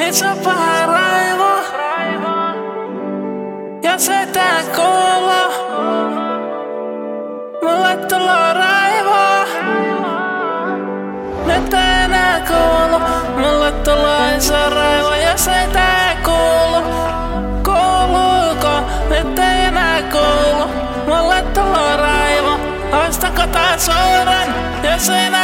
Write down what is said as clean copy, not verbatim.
se on paha raivo. Jos ei tää kuulu, mulle tuloo raivoa. Nyt ei enää kuulu, mulle tuloo iso raivo. Jos ei tää kuulu, kuuluuko? Nyt ei enää kuulu, mulle tuloo raivo. Ostako taas uuden, jos ei